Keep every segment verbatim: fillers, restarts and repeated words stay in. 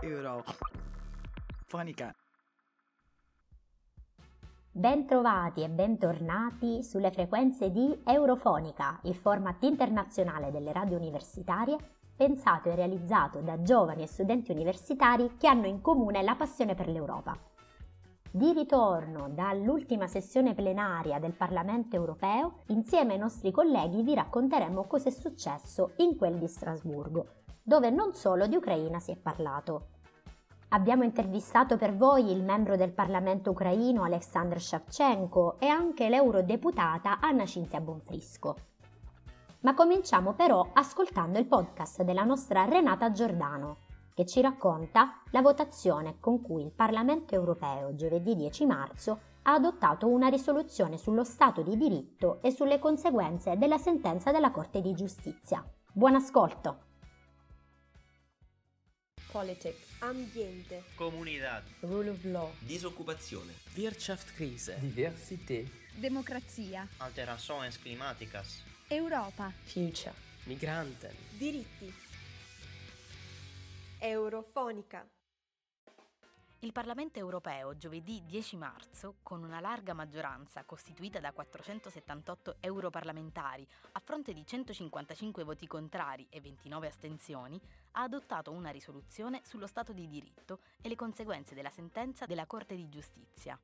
Eurofonica. Bentrovati e bentornati sulle frequenze di Eurofonica, il format internazionale delle radio universitarie, pensato e realizzato da giovani e studenti universitari che hanno in comune la passione per l'Europa. Di ritorno dall'ultima sessione plenaria del Parlamento europeo, insieme ai nostri colleghi vi racconteremo cosa è successo in quel di Strasburgo, dove non solo di Ucraina si è parlato. Abbiamo intervistato per voi il membro del Parlamento ucraino Alexandr Savchenko e anche l'eurodeputata Anna Cinzia Bonfrisco. Ma cominciamo però ascoltando il podcast della nostra Renata Giordano, che ci racconta la votazione con cui il Parlamento europeo giovedì dieci marzo ha adottato una risoluzione sullo Stato di diritto e sulle conseguenze della sentenza della Corte di Giustizia. Buon ascolto! Politics, ambiente, comunità, rule of law, disoccupazione, Wirtschaftskrise, diversità, democrazia, alterações climáticas, Europa, future, migranten, diritti. Eurofonica. Il Parlamento europeo giovedì dieci marzo, con una larga maggioranza costituita da quattrocentosettantotto europarlamentari a fronte di centocinquantacinque voti contrari e ventinove astensioni, ha adottato una risoluzione sullo Stato di diritto e le conseguenze della sentenza della Corte di Giustizia.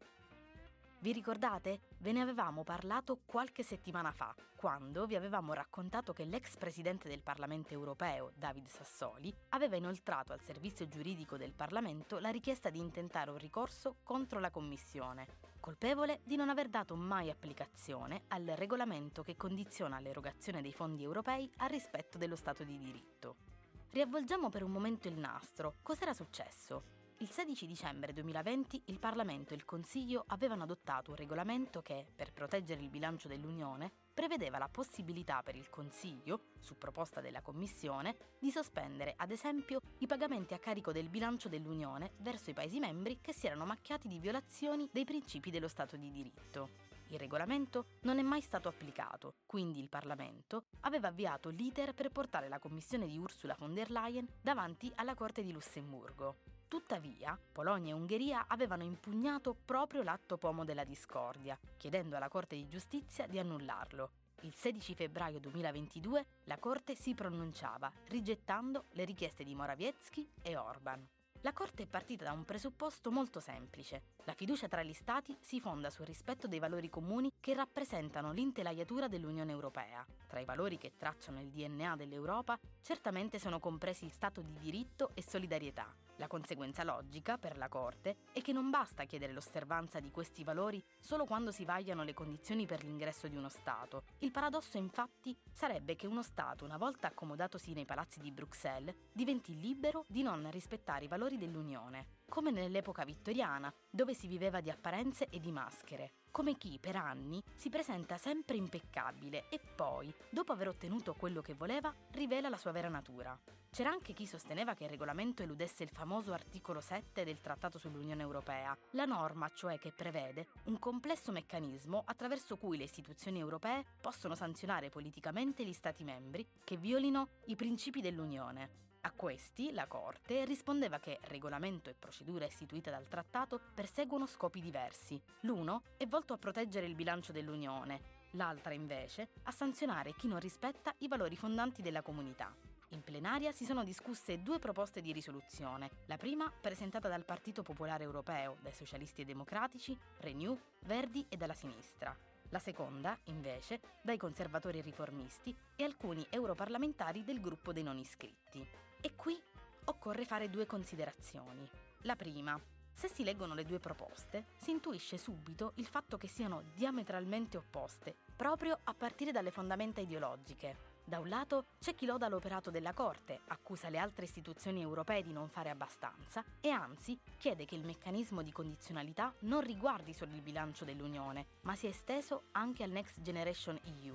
Vi ricordate? Ve ne avevamo parlato qualche settimana fa, quando vi avevamo raccontato che l'ex presidente del Parlamento europeo, David Sassoli, aveva inoltrato al servizio giuridico del Parlamento la richiesta di intentare un ricorso contro la Commissione, colpevole di non aver dato mai applicazione al regolamento che condiziona l'erogazione dei fondi europei al rispetto dello Stato di diritto. Riavvolgiamo per un momento il nastro. Cos'era successo? Il sedici dicembre duemilaventi il Parlamento e il Consiglio avevano adottato un regolamento che, per proteggere il bilancio dell'Unione, prevedeva la possibilità per il Consiglio, su proposta della Commissione, di sospendere, ad esempio, i pagamenti a carico del bilancio dell'Unione verso i Paesi membri che si erano macchiati di violazioni dei principi dello Stato di diritto. Il regolamento non è mai stato applicato, quindi il Parlamento aveva avviato l'iter per portare la Commissione di Ursula von der Leyen davanti alla Corte di Lussemburgo. Tuttavia, Polonia e Ungheria avevano impugnato proprio l'atto pomo della discordia, chiedendo alla Corte di Giustizia di annullarlo. Il sedici febbraio duemilaventidue la Corte si pronunciava, rigettando le richieste di Morawiecki e Orban. La Corte è partita da un presupposto molto semplice. La fiducia tra gli Stati si fonda sul rispetto dei valori comuni che rappresentano l'intelaiatura dell'Unione Europea. Tra i valori che tracciano il D N A dell'Europa, certamente sono compresi Stato di diritto e solidarietà. La conseguenza logica, per la Corte, è che non basta chiedere l'osservanza di questi valori solo quando si vagliano le condizioni per l'ingresso di uno Stato. Il paradosso, infatti, sarebbe che uno Stato, una volta accomodatosi nei palazzi di Bruxelles, diventi libero di non rispettare i valori dell'Unione, come nell'epoca vittoriana, dove si viveva di apparenze e di maschere, come chi per anni si presenta sempre impeccabile e poi, dopo aver ottenuto quello che voleva, rivela la sua vera natura. C'era anche chi sosteneva che il regolamento eludesse il famoso articolo sette del Trattato sull'Unione Europea, la norma cioè che prevede un complesso meccanismo attraverso cui le istituzioni europee possono sanzionare politicamente gli Stati membri che violino i principi dell'Unione. A questi, la Corte rispondeva che regolamento e procedura istituita dal Trattato perseguono scopi diversi. L'uno è volto a proteggere il bilancio dell'Unione, l'altra invece a sanzionare chi non rispetta i valori fondanti della comunità. In plenaria si sono discusse due proposte di risoluzione, la prima presentata dal Partito Popolare Europeo, dai Socialisti e Democratici, Renew, Verdi e dalla sinistra. La seconda, invece, dai Conservatori e Riformisti e alcuni europarlamentari del gruppo dei non iscritti. E qui occorre fare due considerazioni. La prima: se si leggono le due proposte, si intuisce subito il fatto che siano diametralmente opposte, proprio a partire dalle fondamenta ideologiche. Da un lato c'è chi loda l'operato della Corte, accusa le altre istituzioni europee di non fare abbastanza e anzi chiede che il meccanismo di condizionalità non riguardi solo il bilancio dell'Unione, ma sia esteso anche al Next Generation E U.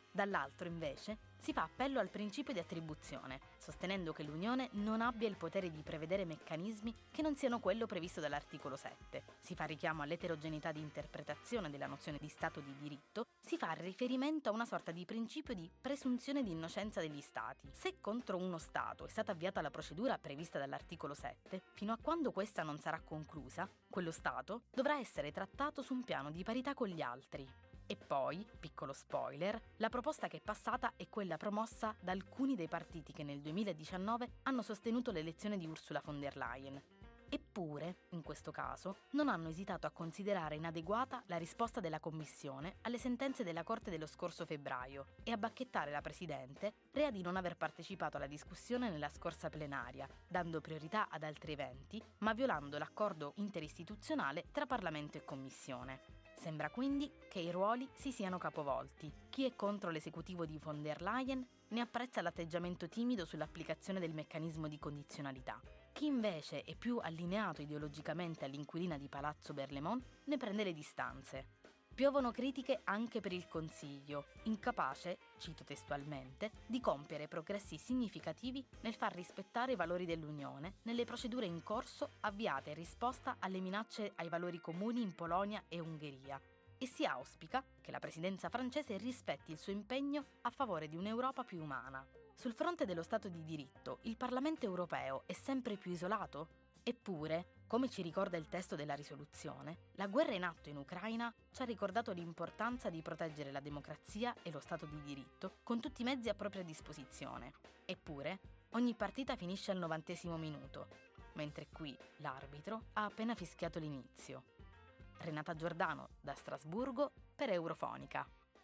Dall'altro, invece, si fa appello al principio di attribuzione, sostenendo che l'Unione non abbia il potere di prevedere meccanismi che non siano quello previsto dall'articolo sette. Si fa richiamo all'eterogeneità di interpretazione della nozione di Stato di diritto, si fa riferimento a una sorta di principio di presunzione di innocenza degli Stati. Se contro uno Stato è stata avviata la procedura prevista dall'articolo sette, fino a quando questa non sarà conclusa, quello Stato dovrà essere trattato su un piano di parità con gli altri. E poi, piccolo spoiler, la proposta che è passata è quella promossa da alcuni dei partiti che nel duemiladiciannove hanno sostenuto l'elezione di Ursula von der Leyen. Eppure, in questo caso, non hanno esitato a considerare inadeguata la risposta della Commissione alle sentenze della Corte dello scorso febbraio e a bacchettare la Presidente, rea di non aver partecipato alla discussione nella scorsa plenaria, dando priorità ad altri eventi, ma violando l'accordo interistituzionale tra Parlamento e Commissione. Sembra quindi che i ruoli si siano capovolti. Chi è contro l'esecutivo di von der Leyen ne apprezza l'atteggiamento timido sull'applicazione del meccanismo di condizionalità. Chi invece è più allineato ideologicamente all'inquilina di Palazzo Berlemont ne prende le distanze. Piovono critiche anche per il Consiglio, incapace, cito testualmente, di compiere progressi significativi nel far rispettare i valori dell'Unione nelle procedure in corso avviate in risposta alle minacce ai valori comuni in Polonia e Ungheria. E si auspica che la presidenza francese rispetti il suo impegno a favore di un'Europa più umana. Sul fronte dello Stato di diritto, il Parlamento europeo è sempre più isolato? Eppure, come ci ricorda il testo della risoluzione, la guerra in atto in Ucraina ci ha ricordato l'importanza di proteggere la democrazia e lo Stato di diritto con tutti i mezzi a propria disposizione. Eppure, ogni partita finisce al novantesimo minuto, mentre qui l'arbitro ha appena fischiato l'inizio. Renata Giordano, da Strasburgo, per Eurofonica.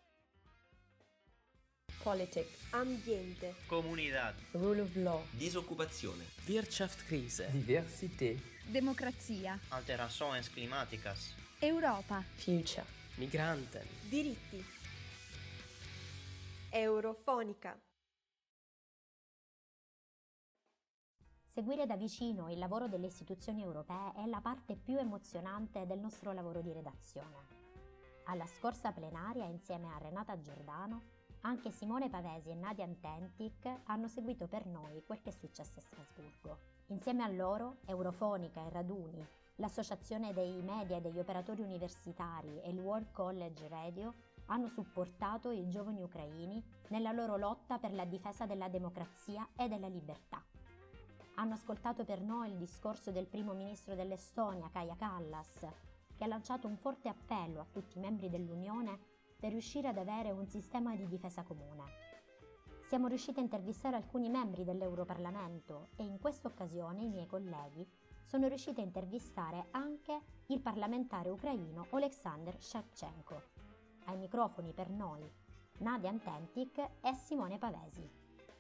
Politics, ambiente, Comunidad. rule of law, Disoccupazione. Wirtschaftskrise. Diversité. Democrazia. Alterações climáticas. Europa. future, Migranten. diritti. Eurofonica. Seguire da vicino il lavoro delle istituzioni europee è la parte più emozionante del nostro lavoro di redazione. Alla scorsa plenaria, insieme a Renata Giordano, anche Simone Pavesi e Nadia Antentic hanno seguito per noi quel che è successo a Strasburgo. Insieme a loro, Eurofonica e Raduni, l'Associazione dei Media e degli Operatori Universitari e il World College Radio hanno supportato i giovani ucraini nella loro lotta per la difesa della democrazia e della libertà. Hanno ascoltato per noi il discorso del primo ministro dell'Estonia, Kaja Kallas, che ha lanciato un forte appello a tutti i membri dell'Unione per riuscire ad avere un sistema di difesa comune. Siamo riusciti a intervistare alcuni membri dell'Europarlamento e in questa occasione i miei colleghi sono riusciti a intervistare anche il parlamentare ucraino Oleksandr Shevchenko. Ai microfoni per noi Nadia Antentic e Simone Pavesi.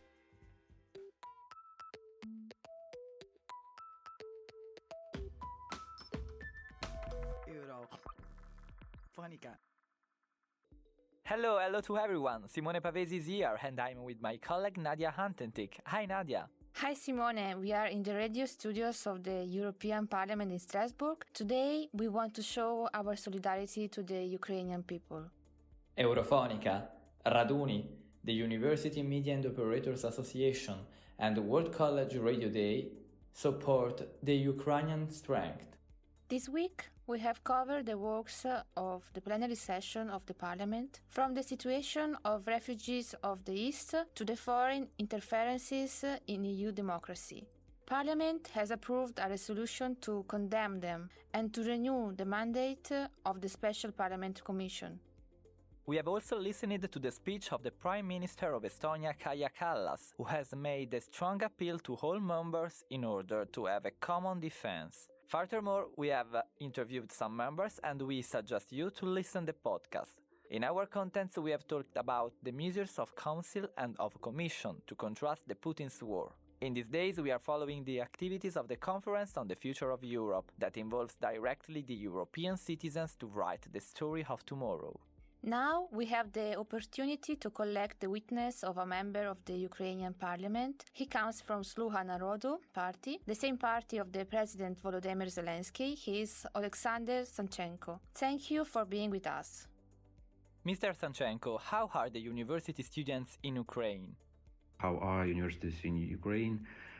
Eurofonica. Hello, hello to everyone. Simone Pavesi is here and I'm with my colleague Nadia Antentic. Hi Nadia. Hi Simone, we are in the radio studios of the European Parliament in Strasbourg. Today we want to show our solidarity to the Ukrainian people. Eurofonica, Raduni, the University Media and Operators Association and the World College Radio Day support the Ukrainian strength. This week we have covered the works of the plenary session of the Parliament, from the situation of refugees of the East to the foreign interferences in E U democracy. Parliament has approved a resolution to condemn them and to renew the mandate of the Special Parliament Commission. We have also listened to the speech of the Prime Minister of Estonia, Kaja Kallas, who has made a strong appeal to all members in order to have a common defense. Furthermore, we have interviewed some members and we suggest you to listen to the podcast. In our contents, we have talked about the measures of Council and of Commission to contrast the Putin's war. In these days, we are following the activities of the Conference on the Future of Europe that involves directly the European citizens to write the story of tomorrow. Now we have the opportunity to collect the witness of a member of the Ukrainian parliament. He comes from Sluha Narodu party, the same party of the President Volodymyr Zelensky. He is Oleksandr Sanchenko. Thank you for being with us. Mister Sanchenko, how are the university students in Ukraine? How are universities in Ukraine?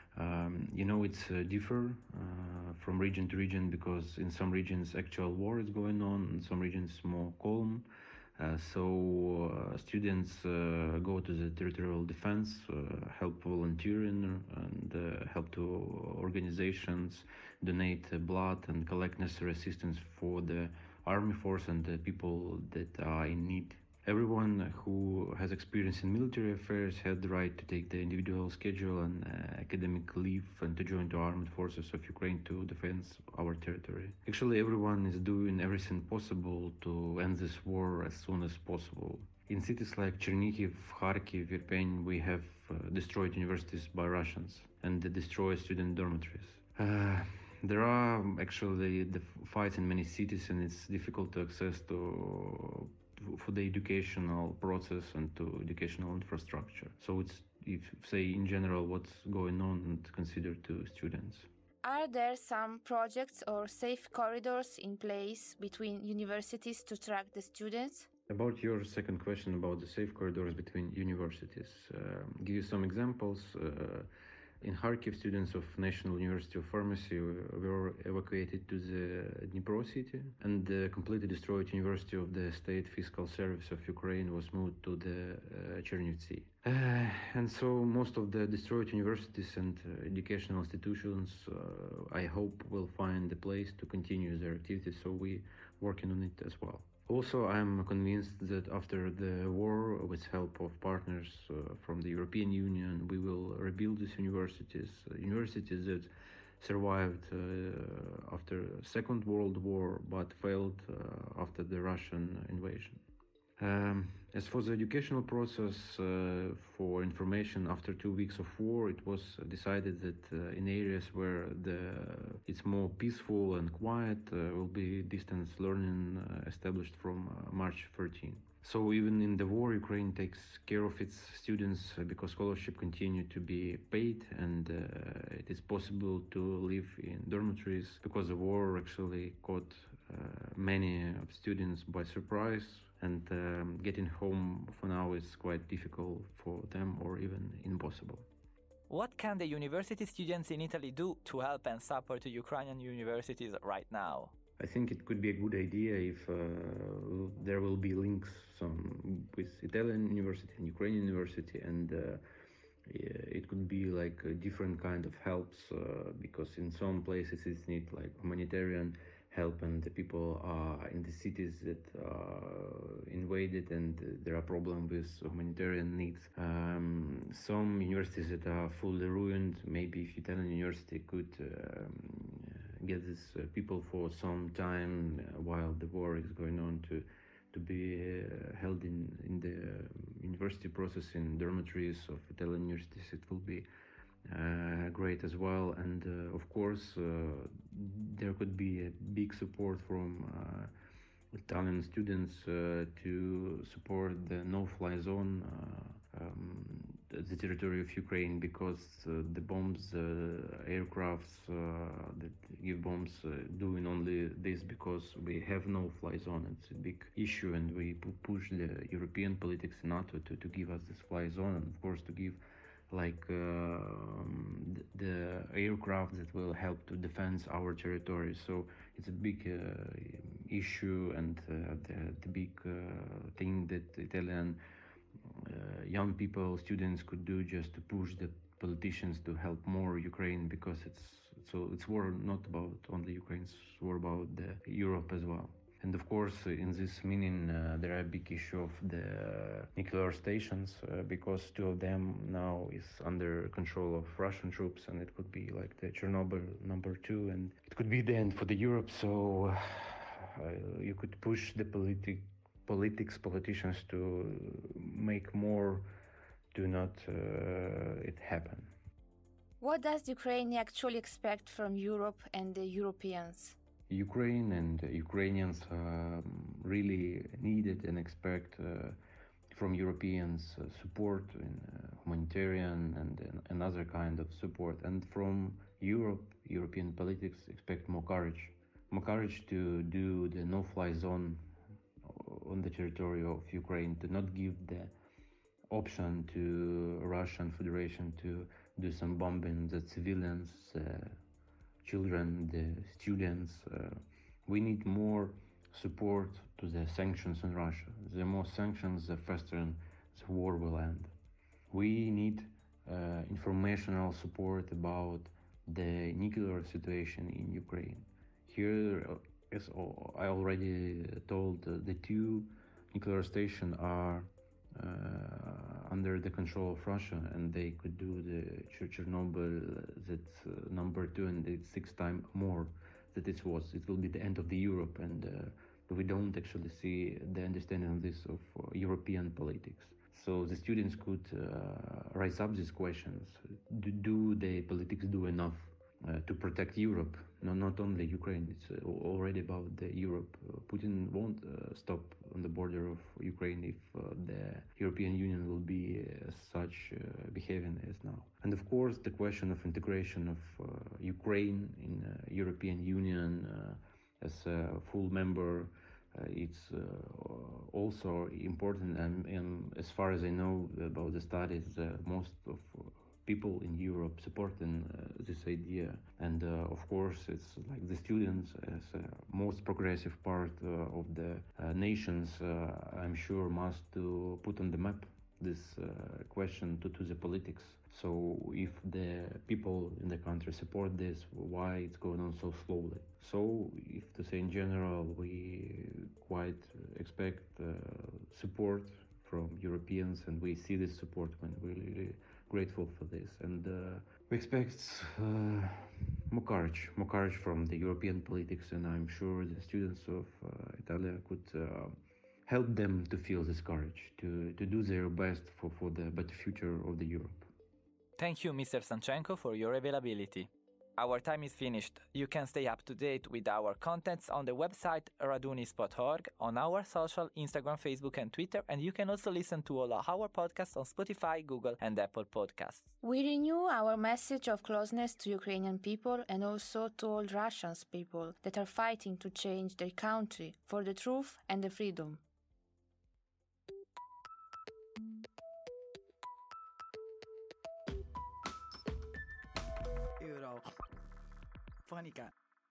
Um, you know, it's uh, differ uh, from region to region, because in some regions actual war is going on, in some regions more calm. Uh, so uh, students uh, go to the territorial defense, uh, help volunteering and uh, help to organizations, donate uh, blood and collect necessary assistance for the army force and the people that are in need. Everyone who has experience in military affairs had the right to take the individual schedule and uh, academic leave and to join the armed forces of Ukraine to defend our territory. Actually, everyone is doing everything possible to end this war as soon as possible. In cities like Chernihiv, Kharkiv, Irpin, we have uh, destroyed universities by Russians and destroyed student dormitories. Uh, there are actually the fights in many cities, and it's difficult to access to for the educational process and to educational infrastructure. So it's, if say in general, what's going on and considered to students. Are there some projects or safe corridors in place between universities to track the students? About your second question about the safe corridors between universities, uh, give you some examples. Uh, In Kharkiv, students of National University of Pharmacy were evacuated to the Dnipro city, and the completely destroyed University of the State Fiscal Service of Ukraine was moved to the uh, Chernivtsi. Uh, and so most of the destroyed universities and uh, educational institutions, uh, I hope, will find a place to continue their activities, so we're working on it as well. Also, I'm convinced that after the war, with help of partners uh, from the European Union, we will rebuild these universities, uh, universities that survived uh, after Second World War but failed uh, after the Russian invasion. Um, as for the educational process, uh, for information, after two weeks of war, it was decided that uh, in areas where the, it's more peaceful and quiet, uh, will be distance learning uh, established from uh, March thirteenth. So even in the war, Ukraine takes care of its students uh, because scholarship continue to be paid, and uh, it is possible to live in dormitories because the war actually caught uh, many students by surprise. And um, getting home for now is quite difficult for them, or even impossible. What can the university students in Italy do to help and support the Ukrainian universities right now? I think it could be a good idea if uh, there will be links some with Italian university and Ukrainian university, and uh, it could be like a different kind of helps uh, because in some places it needs like humanitarian help, and the people are in the cities that are invaded, and there are problems with humanitarian needs. Um, some universities that are fully ruined, maybe if Italian university could um, get these uh, people for some time uh, while the war is going on to to be uh, held in, in the university process in dormitories of Italian universities, it will be Uh, great as well. And uh, of course uh, there could be a big support from uh, Italian students uh, to support the no-fly zone, uh, um, the territory of Ukraine, because uh, the bombs, uh, aircrafts uh, that give bombs uh, doing only this because we have no-fly zone. It's a big issue, and we push the European politics in NATO to, to give us this fly zone, and of course to give like uh, the aircraft that will help to defend our territory. So it's a big uh, issue, and uh, the, the big uh, thing that Italian uh, young people, students could do just to push the politicians to help more Ukraine, because it's so it's war not about only Ukraine, it's war about the Europe as well. And of course, in this meaning, uh, there are a big issue of the nuclear stations, uh, because two of them now is under control of Russian troops, and it could be like the Chernobyl number two, and it could be the end for the Europe. So uh, you could push the politic, politics, politicians to make more to not uh, it happen. What does Ukraine actually expect from Europe and the Europeans? Ukraine and Ukrainians um, really needed and expect uh, from Europeans uh, support in uh, humanitarian and, and another kind of support. And from Europe, European politics expect more courage, more courage to do the no-fly zone on the territory of Ukraine, to not give the option to Russian Federation to do some bombing the civilians, uh, children, the students. Uh, we need more support to the sanctions on Russia. The more sanctions, the faster the war will end. We need uh, informational support about the nuclear situation in Ukraine. Here, as I already told, uh, the two nuclear stations are uh, under the control of Russia, and they could do the Chernobyl, that's uh, number two, and it's six times more that it was. It will be the end of the Europe, and uh, we don't actually see the understanding of this of uh, European politics. So the students could uh, raise up these questions. Do, do the politics do enough uh, to protect Europe? No, not only Ukraine, it's uh, already about the Europe. Uh, Putin won't uh, stop on the border of Ukraine if uh, the European Union will be uh, such uh, behaving as now. And of course, the question of integration of uh, Ukraine in uh, European Union uh, as a full member, Uh, it's uh, also important, and, and as far as I know about the studies, uh, most of uh, people in Europe supporting uh, this idea. And uh, of course, it's like the students as uh, most progressive part uh, of the uh, nations, uh, I'm sure, must to put on the map this uh, question to, to the politics. So if the people in the country support this, why it's going on so slowly? So if to say in general, we quite expect uh, support from Europeans, and we see this support when we're really grateful for this. And uh, we expect uh, more courage, more courage from the European politics, and I'm sure the students of uh, Italia could uh, help them to feel this courage, to, to do their best for, for the better future of the Europe. Thank you, Mister Sanchenko, for your availability. Our time is finished. You can stay up to date with our contents on the website radunis dot org, on our social, Instagram, Facebook and Twitter, and you can also listen to all our podcasts on Spotify, Google and Apple Podcasts. We renew our message of closeness to Ukrainian people and also to all Russian people that are fighting to change their country for the truth and the freedom. Fonica.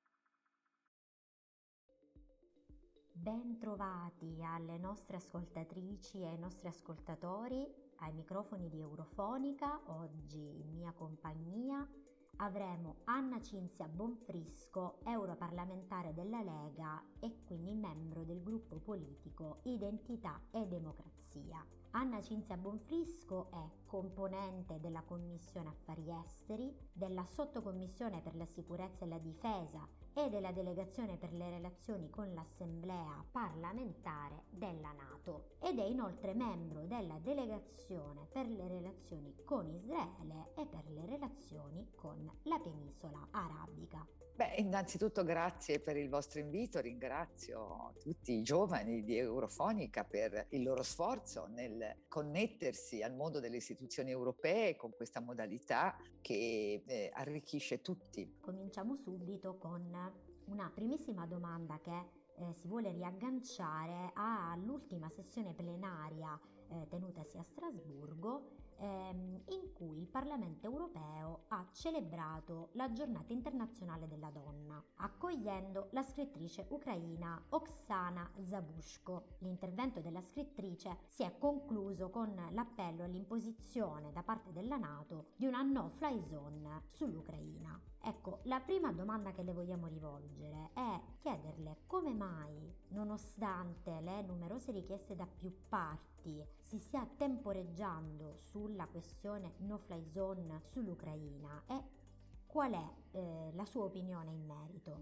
Ben trovati alle nostre ascoltatrici e ai nostri ascoltatori ai microfoni di Eurofonica. Oggi in mia compagnia avremo Anna Cinzia Bonfrisco, europarlamentare della Lega e quindi membro del gruppo politico Identità e Democrazia. Anna Cinzia Bonfrisco è componente della Commissione Affari Esteri, della Sottocommissione per la Sicurezza e la Difesa e della Delegazione per le Relazioni con l'Assemblea Parlamentare della NATO ed è inoltre membro della Delegazione per le Relazioni con Israele e per le relazioni con la Penisola Arabica. Beh, innanzitutto grazie per il vostro invito, ringrazio tutti i giovani di Eurofonica per il loro sforzo nel connettersi al mondo delle istituzioni europee con questa modalità che eh, arricchisce tutti. Cominciamo subito con una primissima domanda che eh, si vuole riagganciare all'ultima sessione plenaria eh, tenutasi a Strasburgo, ehm, in cui il Parlamento europeo ha celebrato la Giornata internazionale della donna, accogliendo la scrittrice ucraina Oksana Zabushko. L'intervento della scrittrice si è concluso con l'appello all'imposizione da parte della NATO di una no-fly zone sull'Ucraina. Ecco, la prima domanda che le vogliamo rivolgere è chiederle come mai, nonostante le numerose richieste da più parti, si stia temporeggiando sulla questione no-fly zone sull'Ucraina e qual è eh, la sua opinione in merito?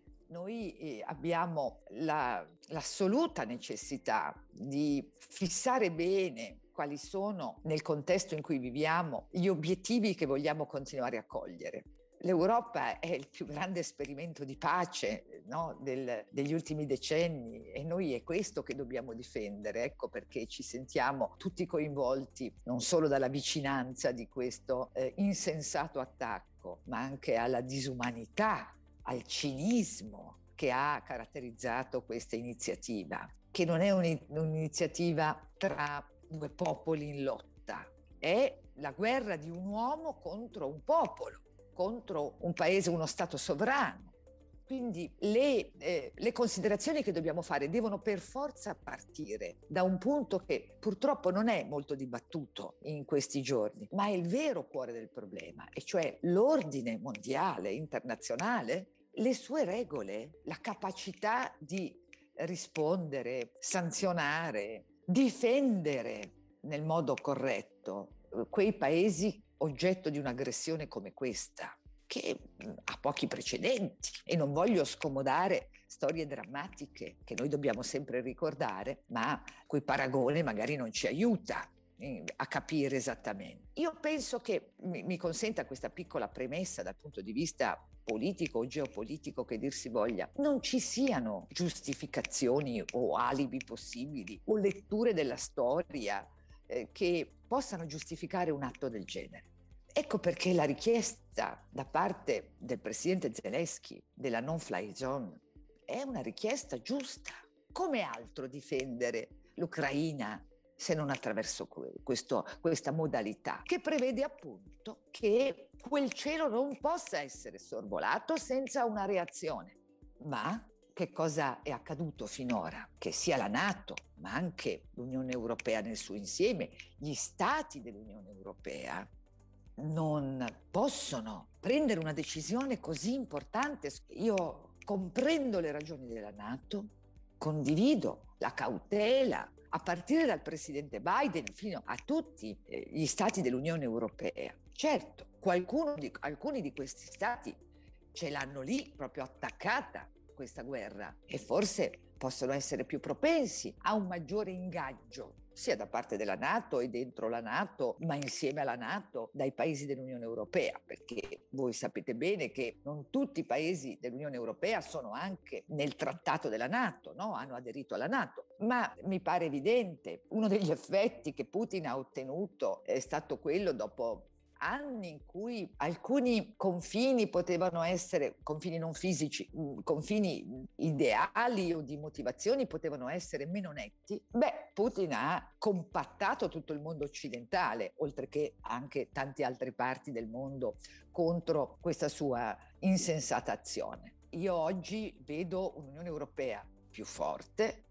Noi eh, abbiamo la, l'assoluta necessità di fissare bene quali sono, nel contesto in cui viviamo, gli obiettivi che vogliamo continuare a cogliere. L'Europa è il più grande esperimento di pace, no, del, degli ultimi decenni e noi è questo che dobbiamo difendere. Ecco perché ci sentiamo tutti coinvolti non solo dalla vicinanza di questo eh, insensato attacco, ma anche alla disumanità, al cinismo che ha caratterizzato questa iniziativa. che non è un'iniziativa tra due popoli in lotta, è la guerra di un uomo contro un popolo, contro un paese, uno Stato sovrano. Quindi le, eh, le considerazioni che dobbiamo fare devono per forza partire da un punto che purtroppo non è molto dibattuto in questi giorni, ma è il vero cuore del problema, e cioè l'ordine mondiale, internazionale, le sue regole, la capacità di rispondere, sanzionare, difendere nel modo corretto quei paesi oggetto di un'aggressione come questa, che ha pochi precedenti, e non voglio scomodare storie drammatiche che noi dobbiamo sempre ricordare, ma cui paragone magari non ci aiuta a capire esattamente. Io penso che, mi, mi consenta questa piccola premessa dal punto di vista politico o geopolitico che dir si voglia, non ci siano giustificazioni o alibi possibili o letture della storia eh, che possano giustificare un atto del genere. Ecco perché la richiesta da parte del presidente Zelensky della non-fly zone è una richiesta giusta. Come altro difendere l'Ucraina se non attraverso questo, questa modalità, che prevede appunto che quel cielo non possa essere sorvolato senza una reazione. Ma che cosa è accaduto finora? Che sia la NATO, ma anche l'Unione Europea nel suo insieme, gli stati dell'Unione Europea, non possono prendere una decisione così importante. Io comprendo le ragioni della NATO, condivido la cautela, a partire dal presidente Biden fino a tutti gli stati dell'Unione Europea. Certo, qualcuno di, alcuni di questi stati ce l'hanno lì proprio attaccata questa guerra, e forse possono essere più propensi a un maggiore ingaggio sia da parte della NATO e dentro la NATO, ma insieme alla NATO dai paesi dell'Unione Europea, perché voi sapete bene che non tutti i paesi dell'Unione Europea sono anche nel trattato della NATO, no? Hanno aderito alla NATO. Ma mi pare evidente, uno degli effetti che Putin ha ottenuto è stato quello, dopo anni in cui alcuni confini potevano essere, confini non fisici, confini ideali o di motivazioni potevano essere meno netti, beh, Putin ha compattato tutto il mondo occidentale, oltre che anche tante altre parti del mondo, contro questa sua insensata azione. Io oggi vedo un'Unione Europea più forte,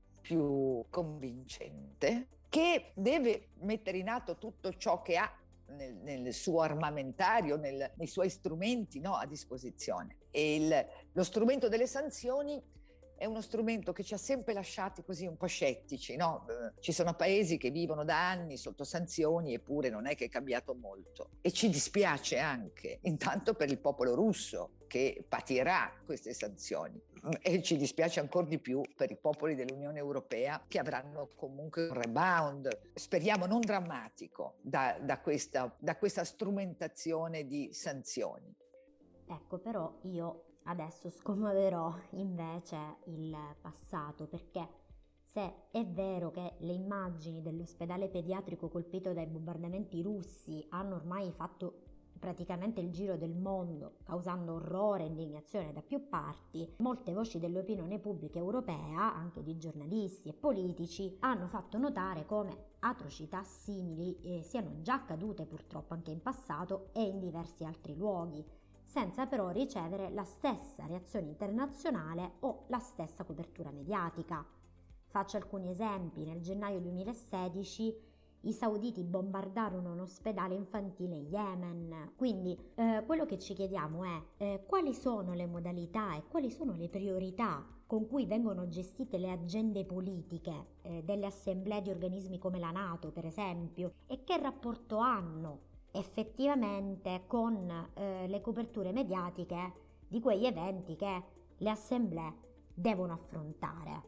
più convincente, che deve mettere in atto tutto ciò che ha Nel, nel suo armamentario, nel, nei suoi strumenti, no, a disposizione. E il, lo strumento delle sanzioni è uno strumento che ci ha sempre lasciati così un po' scettici, no? Ci sono paesi che vivono da anni sotto sanzioni, eppure non è che è cambiato molto. E ci dispiace anche, intanto per il popolo russo, che patirà queste sanzioni, e ci dispiace ancora di più per i popoli dell'Unione Europea, che avranno comunque un rebound, speriamo non drammatico, da, da, questa, da questa strumentazione di sanzioni. Ecco, però io adesso scomoderò invece il passato, perché se è vero che le immagini dell'ospedale pediatrico colpito dai bombardamenti russi hanno ormai fatto praticamente il giro del mondo, causando orrore e indignazione da più parti, molte voci dell'opinione pubblica europea, anche di giornalisti e politici, hanno fatto notare come atrocità simili eh, siano già accadute purtroppo anche in passato e in diversi altri luoghi, senza però ricevere la stessa reazione internazionale o la stessa copertura mediatica. Faccio alcuni esempi. Nel gennaio duemilasedici i sauditi bombardarono un ospedale infantile in Yemen. Quindi eh, quello che ci chiediamo è eh, quali sono le modalità e quali sono le priorità con cui vengono gestite le agende politiche eh, delle assemblee di organismi come la NATO, per esempio, e che rapporto hanno effettivamente con eh, le coperture mediatiche di quegli eventi che le assemblee devono affrontare.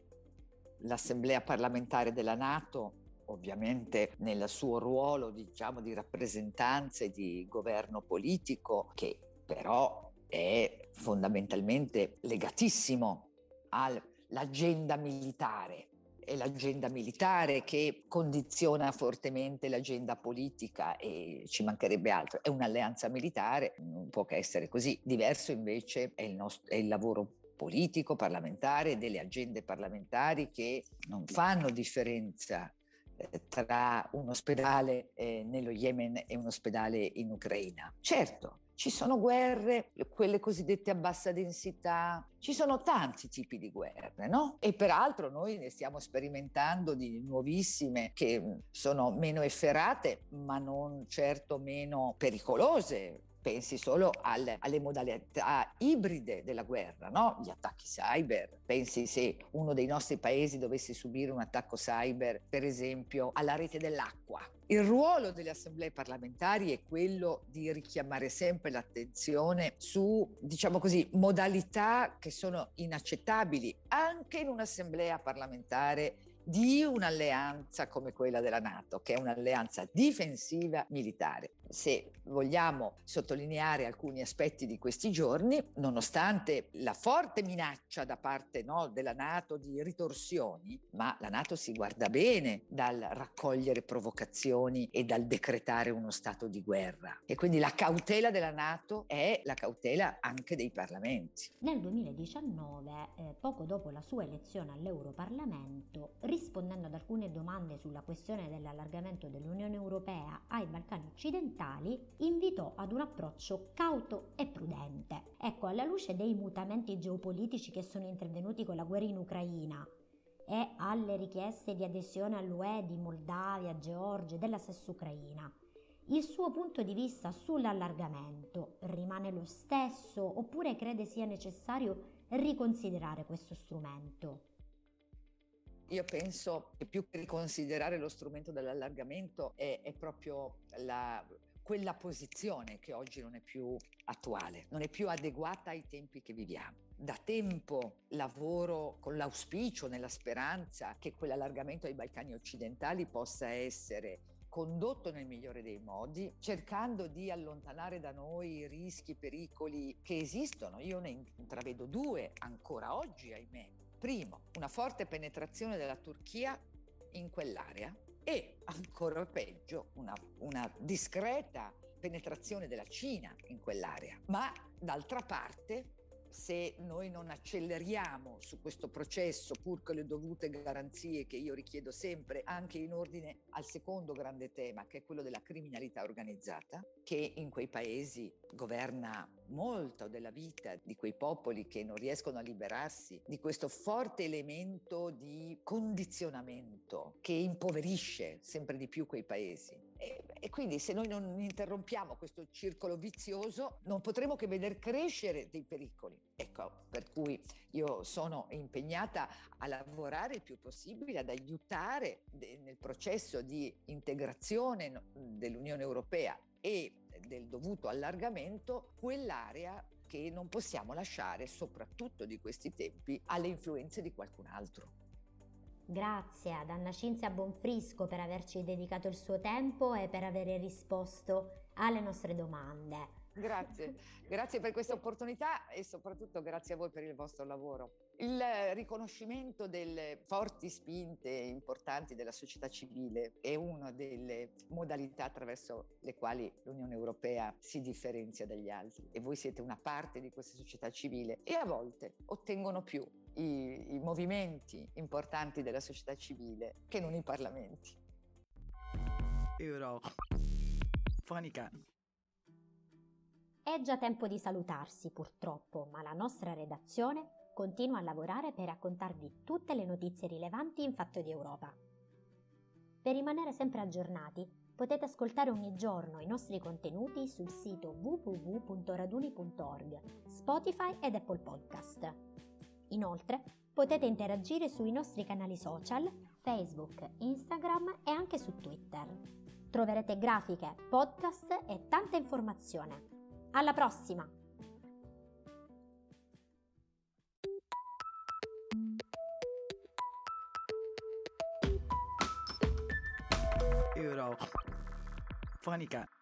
L'assemblea parlamentare della NATO, ovviamente nel suo ruolo, diciamo, di rappresentanza e di governo politico, che però è fondamentalmente legatissimo all'agenda militare. È l'agenda militare che condiziona fortemente l'agenda politica, e ci mancherebbe altro. È un'alleanza militare, non può che essere così. Diverso invece è il, nostro, è il lavoro politico parlamentare, delle agende parlamentari che non fanno differenza eh, tra un ospedale eh, nello Yemen e un ospedale in Ucraina. Certo, ci sono guerre, quelle cosiddette a bassa densità, ci sono tanti tipi di guerre, no? E peraltro noi ne stiamo sperimentando di nuovissime che sono meno efferate, ma non certo meno pericolose. Pensi solo al, alle modalità ibride della guerra, no? Gli attacchi cyber. Pensi se uno dei nostri paesi dovesse subire un attacco cyber, per esempio, alla rete dell'acqua. Il ruolo delle assemblee parlamentari è quello di richiamare sempre l'attenzione su, diciamo così, modalità che sono inaccettabili anche in un'assemblea parlamentare di un'alleanza come quella della NATO, che è un'alleanza difensiva militare. Se vogliamo sottolineare alcuni aspetti di questi giorni, nonostante la forte minaccia da parte no, della NATO di ritorsioni, ma la NATO si guarda bene dal raccogliere provocazioni e dal decretare uno stato di guerra. E quindi la cautela della NATO è la cautela anche dei parlamenti. Nel duemiladiciannove, eh, poco dopo la sua elezione all'Europarlamento, rispondendo ad alcune domande sulla questione dell'allargamento dell'Unione Europea ai Balcani occidentali, invitò ad un approccio cauto e prudente. Ecco, alla luce dei mutamenti geopolitici che sono intervenuti con la guerra in Ucraina e alle richieste di adesione all'U E di Moldavia, Georgia e della stessa Ucraina, il suo punto di vista sull'allargamento rimane lo stesso oppure crede sia necessario riconsiderare questo strumento? Io penso che più che riconsiderare lo strumento dell'allargamento è, è proprio la, quella posizione che oggi non è più attuale, non è più adeguata ai tempi che viviamo. Da tempo lavoro con l'auspicio, nella speranza che quell'allargamento ai Balcani occidentali possa essere condotto nel migliore dei modi, cercando di allontanare da noi i rischi e pericoli che esistono. Io ne intravedo due ancora oggi, ahimè. Primo, una forte penetrazione della Turchia in quell'area e, ancora peggio, una, una discreta penetrazione della Cina in quell'area. Ma, d'altra parte, se noi non acceleriamo su questo processo, pur con le dovute garanzie che io richiedo sempre, anche in ordine al secondo grande tema, che è quello della criminalità organizzata, che in quei paesi governa molto della vita di quei popoli che non riescono a liberarsi di questo forte elemento di condizionamento che impoverisce sempre di più quei paesi. E, e quindi se noi non interrompiamo questo circolo vizioso non potremo che veder crescere dei pericoli. Ecco, per cui io sono impegnata a lavorare il più possibile, ad aiutare de- nel processo di integrazione dell'Unione Europea e del dovuto allargamento quell'area che non possiamo lasciare, soprattutto di questi tempi, alle influenze di qualcun altro. Grazie ad Anna Cinzia Bonfrisco per averci dedicato il suo tempo e per aver risposto alle nostre domande. Grazie, grazie per questa opportunità e soprattutto grazie a voi per il vostro lavoro. Il riconoscimento delle forti spinte importanti della società civile è una delle modalità attraverso le quali l'Unione Europea si differenzia dagli altri e voi siete una parte di questa società civile e a volte ottengono più i, i movimenti importanti della società civile che non i parlamenti. Eurofonica. È già tempo di salutarsi purtroppo, ma la nostra redazione continua a lavorare per raccontarvi tutte le notizie rilevanti in fatto di Europa. Per rimanere sempre aggiornati, potete ascoltare ogni giorno i nostri contenuti sul sito w w w punto raduni punto org, Spotify ed Apple Podcast. Inoltre, potete interagire sui nostri canali social, Facebook, Instagram e anche su Twitter. Troverete grafiche, podcast e tanta informazione. Alla prossima! Eurofonica.